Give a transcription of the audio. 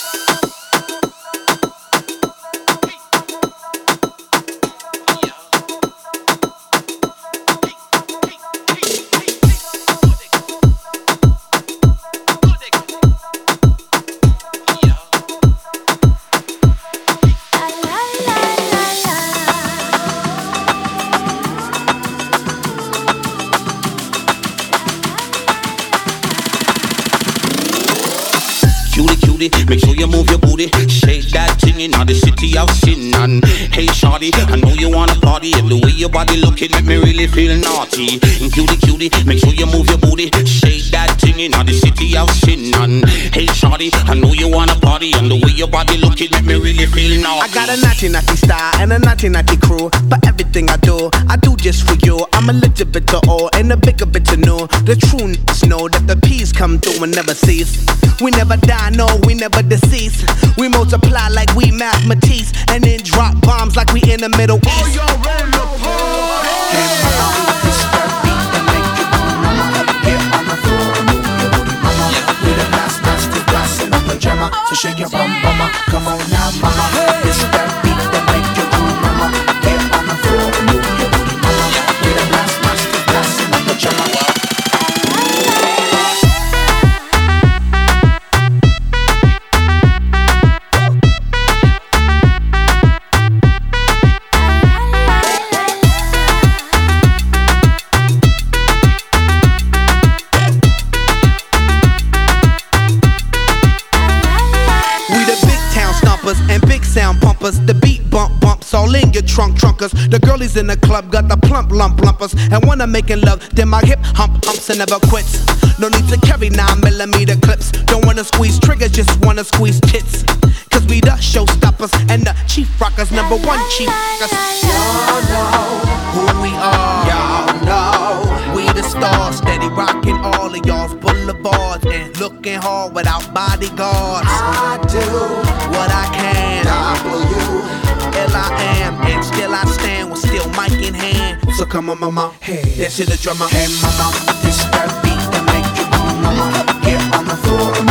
Make sure you move your booty, shake that thing in the city of sin. And hey shawty, I know you wanna party, and the way your body looking make me really feel naughty. And cutie, make sure you move your booty, shake that thing in the city of sin. And hey shawty, I know you wanna party, and the way your body looking make me really feel naughty. I got a naughty style and a naughty crew, but everything I do just for you. I'm a little bit to all and a bigger bit to know. The true know that the peace come through and never cease. We never die, no, we never decease. We multiply like we mathematics, and then drop bombs like we in the Middle East. Oh, y'all ready to party? Hey, mama, this that beat that make you move, mama. Get on the floor and move your booty, mama. We the last nasty glass in a pajama, so shake your bum, mama. Come on now, mama. This that beat that make you move, mama. Get on the floor and move your booty, mama. We the last nasty glass in a pajama. And big sound pumpers, the beat bumps all in your trunkers. The girlies in the club got the lumpers, and when I'm making love, then my hip humps and never quits. No need to carry 9mm clips. Don't wanna squeeze triggers, just wanna squeeze tits. Cause we the showstoppers and the chief rockers, #1 chief rockers. Y'all know who we are. Y'all know we the stars, steady rocking all of y'all's boulevards and looking hard without bodyguards. I do what I can. W-L-I-am, and still I stand with still mic in hand. So come on, mama, hey, that's the drummer. Hey, mama, this that beat that make you move, mama. Get on the floor.